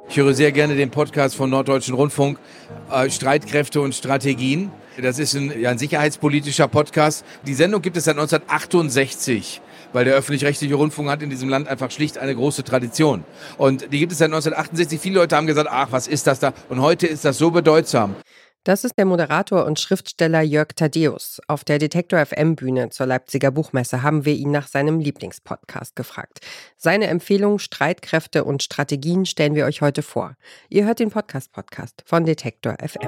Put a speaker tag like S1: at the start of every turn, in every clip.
S1: Ich höre sehr gerne den Podcast von Norddeutschen Rundfunk, Streitkräfte und Strategien. Das ist ein sicherheitspolitischer Podcast. Die Sendung gibt es seit 1968, weil der öffentlich-rechtliche Rundfunk hat in diesem Land einfach schlicht eine große Tradition. Und die gibt es seit 1968. Viele Leute haben gesagt, ach, was ist das da? Und heute ist das so bedeutsam.
S2: Das ist der Moderator und Schriftsteller Jörg Thaddeus. Auf der Detektor FM Bühne zur Leipziger Buchmesse haben wir ihn nach seinem Lieblingspodcast gefragt. Seine Empfehlung Streitkräfte und Strategien stellen wir euch heute vor. Ihr hört den Podcast von Detektor FM.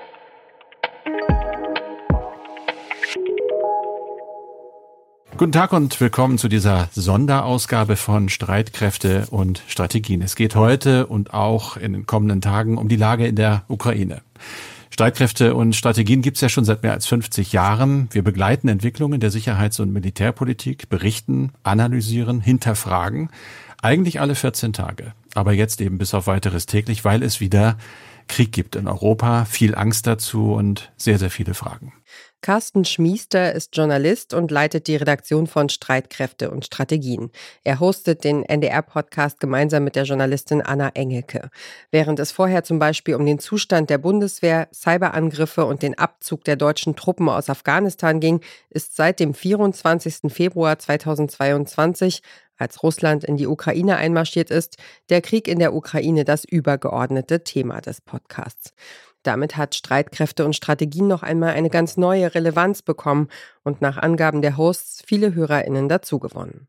S3: Guten Tag und willkommen zu dieser Sonderausgabe von Streitkräfte und Strategien. Es geht heute und auch in den kommenden Tagen um die Lage in der Ukraine. Streitkräfte und Strategien gibt es ja schon seit mehr als 50 Jahren. Wir begleiten Entwicklungen der Sicherheits- und Militärpolitik, berichten, analysieren, hinterfragen. Eigentlich alle 14 Tage. Aber jetzt eben bis auf Weiteres täglich, weil es wieder Krieg gibt in Europa, viel Angst dazu und sehr, sehr viele Fragen.
S2: Carsten Schmiester ist Journalist und leitet die Redaktion von Streitkräfte und Strategien. Er hostet den NDR-Podcast gemeinsam mit der Journalistin Anna Engelke. Während es vorher zum Beispiel um den Zustand der Bundeswehr, Cyberangriffe und den Abzug der deutschen Truppen aus Afghanistan ging, ist seit dem 24. Februar 2022, als Russland in die Ukraine einmarschiert ist, der Krieg in der Ukraine das übergeordnete Thema des Podcasts. Damit hat Streitkräfte und Strategien noch einmal eine ganz neue Relevanz bekommen und nach Angaben der Hosts viele HörerInnen dazugewonnen.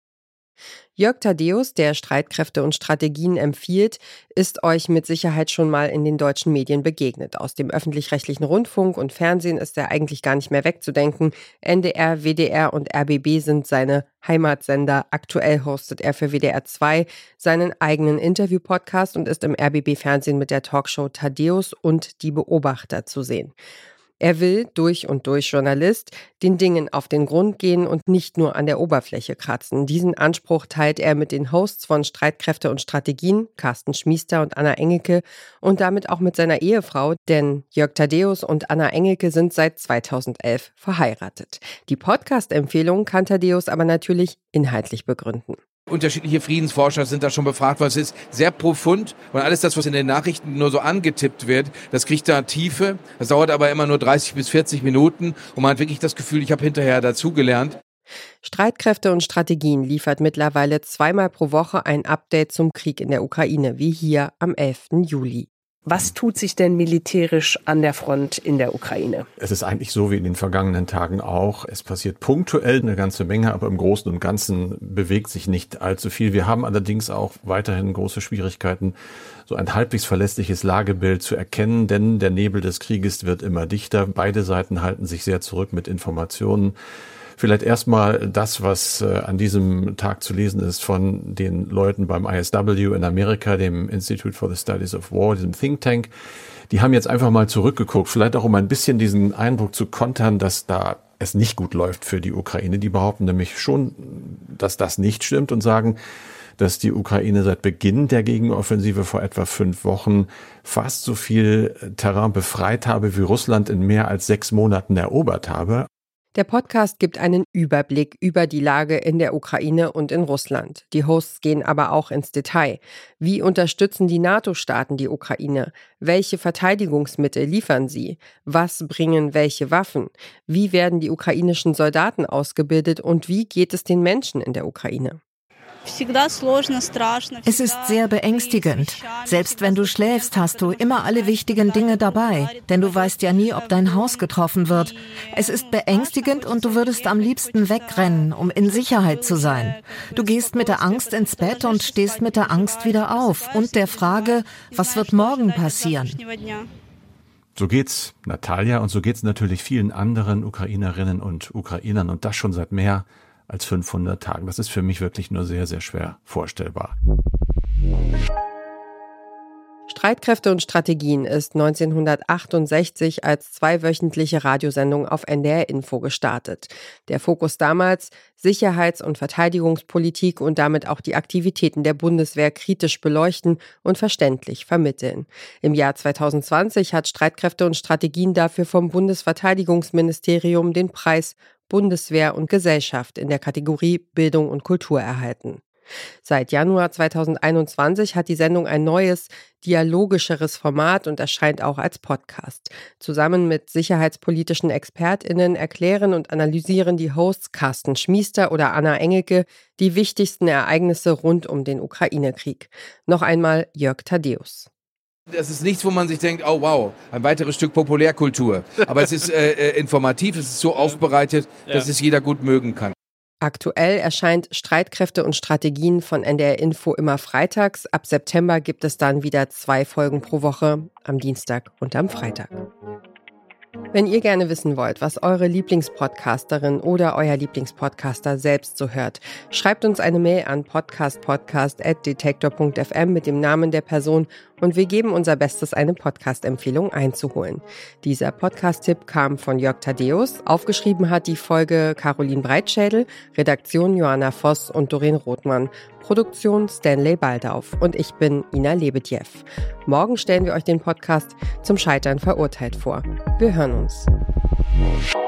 S2: Jörg Thaddeus, der Streitkräfte und Strategien empfiehlt, ist euch mit Sicherheit schon mal in den deutschen Medien begegnet. Aus dem öffentlich-rechtlichen Rundfunk und Fernsehen ist er eigentlich gar nicht mehr wegzudenken. NDR, WDR und RBB sind seine Heimatsender. Aktuell hostet er für WDR 2 seinen eigenen Interview-Podcast und ist im RBB-Fernsehen mit der Talkshow Thaddeus und Die Beobachter zu sehen. Er will, durch und durch Journalist, den Dingen auf den Grund gehen und nicht nur an der Oberfläche kratzen. Diesen Anspruch teilt er mit den Hosts von Streitkräfte und Strategien, Carsten Schmiester und Anna Engelke, und damit auch mit seiner Ehefrau, denn Jörg Thaddeus und Anna Engelke sind seit 2011 verheiratet. Die Podcast-Empfehlung kann Thaddeus aber natürlich inhaltlich begründen.
S1: Unterschiedliche Friedensforscher sind da schon befragt worden. Es ist sehr profund und alles das, was in den Nachrichten nur so angetippt wird, das kriegt da Tiefe. Das dauert aber immer nur 30 bis 40 Minuten und man hat wirklich das Gefühl, ich habe hinterher dazugelernt.
S2: Streitkräfte und Strategien liefert mittlerweile 2-mal pro Woche ein Update zum Krieg in der Ukraine, wie hier am 11. Juli. Was tut sich denn militärisch an der Front in der Ukraine?
S3: Es ist eigentlich so wie in den vergangenen Tagen auch. Es passiert punktuell eine ganze Menge, aber im Großen und Ganzen bewegt sich nicht allzu viel. Wir haben allerdings auch weiterhin große Schwierigkeiten, so ein halbwegs verlässliches Lagebild zu erkennen, denn der Nebel des Krieges wird immer dichter. Beide Seiten halten sich sehr zurück mit Informationen. Vielleicht erstmal das, was an diesem Tag zu lesen ist von den Leuten beim ISW in Amerika, dem Institute for the Studies of War, diesem Think Tank. Die haben jetzt einfach mal zurückgeguckt, vielleicht auch um ein bisschen diesen Eindruck zu kontern, dass da es nicht gut läuft für die Ukraine. Die behaupten nämlich schon, dass das nicht stimmt und sagen, dass die Ukraine seit Beginn der Gegenoffensive vor etwa 5 Wochen fast so viel Terrain befreit habe, wie Russland in mehr als 6 Monaten erobert habe.
S2: Der Podcast gibt einen Überblick über die Lage in der Ukraine und in Russland. Die Hosts gehen aber auch ins Detail. Wie unterstützen die NATO-Staaten die Ukraine? Welche Verteidigungsmittel liefern sie? Was bringen welche Waffen? Wie werden die ukrainischen Soldaten ausgebildet und wie geht es den Menschen in der Ukraine?
S4: Es ist sehr beängstigend. Selbst wenn du schläfst, hast du immer alle wichtigen Dinge dabei, denn du weißt ja nie, ob dein Haus getroffen wird. Es ist beängstigend und du würdest am liebsten wegrennen, um in Sicherheit zu sein. Du gehst mit der Angst ins Bett und stehst mit der Angst wieder auf und der Frage, was wird morgen passieren?
S3: So geht's Natalia und so geht's natürlich vielen anderen Ukrainerinnen und Ukrainern und das schon seit mehr als 500 Tagen. Das ist für mich wirklich nur sehr, sehr schwer vorstellbar.
S2: Streitkräfte und Strategien ist 1968 als 2-wöchentliche Radiosendung auf NDR Info gestartet. Der Fokus damals: Sicherheits- und Verteidigungspolitik und damit auch die Aktivitäten der Bundeswehr kritisch beleuchten und verständlich vermitteln. Im Jahr 2020 hat Streitkräfte und Strategien dafür vom Bundesverteidigungsministerium den Preis Bundeswehr und Gesellschaft in der Kategorie Bildung und Kultur erhalten. Seit Januar 2021 hat die Sendung ein neues, dialogischeres Format und erscheint auch als Podcast. Zusammen mit sicherheitspolitischen ExpertInnen erklären und analysieren die Hosts Carsten Schmiester oder Anna Engelke die wichtigsten Ereignisse rund um den Ukraine-Krieg. Noch einmal Jörg Thaddeus.
S1: Das ist nichts, wo man sich denkt, oh wow, ein weiteres Stück Populärkultur. Aber es ist informativ, es ist so aufbereitet, dass es jeder gut mögen kann.
S2: Aktuell erscheint Streitkräfte und Strategien von NDR Info immer freitags. Ab September gibt es dann wieder 2 Folgen pro Woche, am Dienstag und am Freitag. Wenn ihr gerne wissen wollt, was eure Lieblingspodcasterin oder euer Lieblingspodcaster selbst so hört, schreibt uns eine Mail an podcast@detektor.fm mit dem Namen der Person und wir geben unser Bestes, eine Podcast-Empfehlung einzuholen. Dieser Podcast-Tipp kam von Jörg Thaddeus. Aufgeschrieben hat die Folge Caroline Breitschädel, Redaktion Johanna Voss und Doreen Rothmann, Produktion Stanley Baldauf und ich bin Ina Lebedjew. Morgen stellen wir euch den Podcast Zum Scheitern verurteilt vor. Wir hören uns.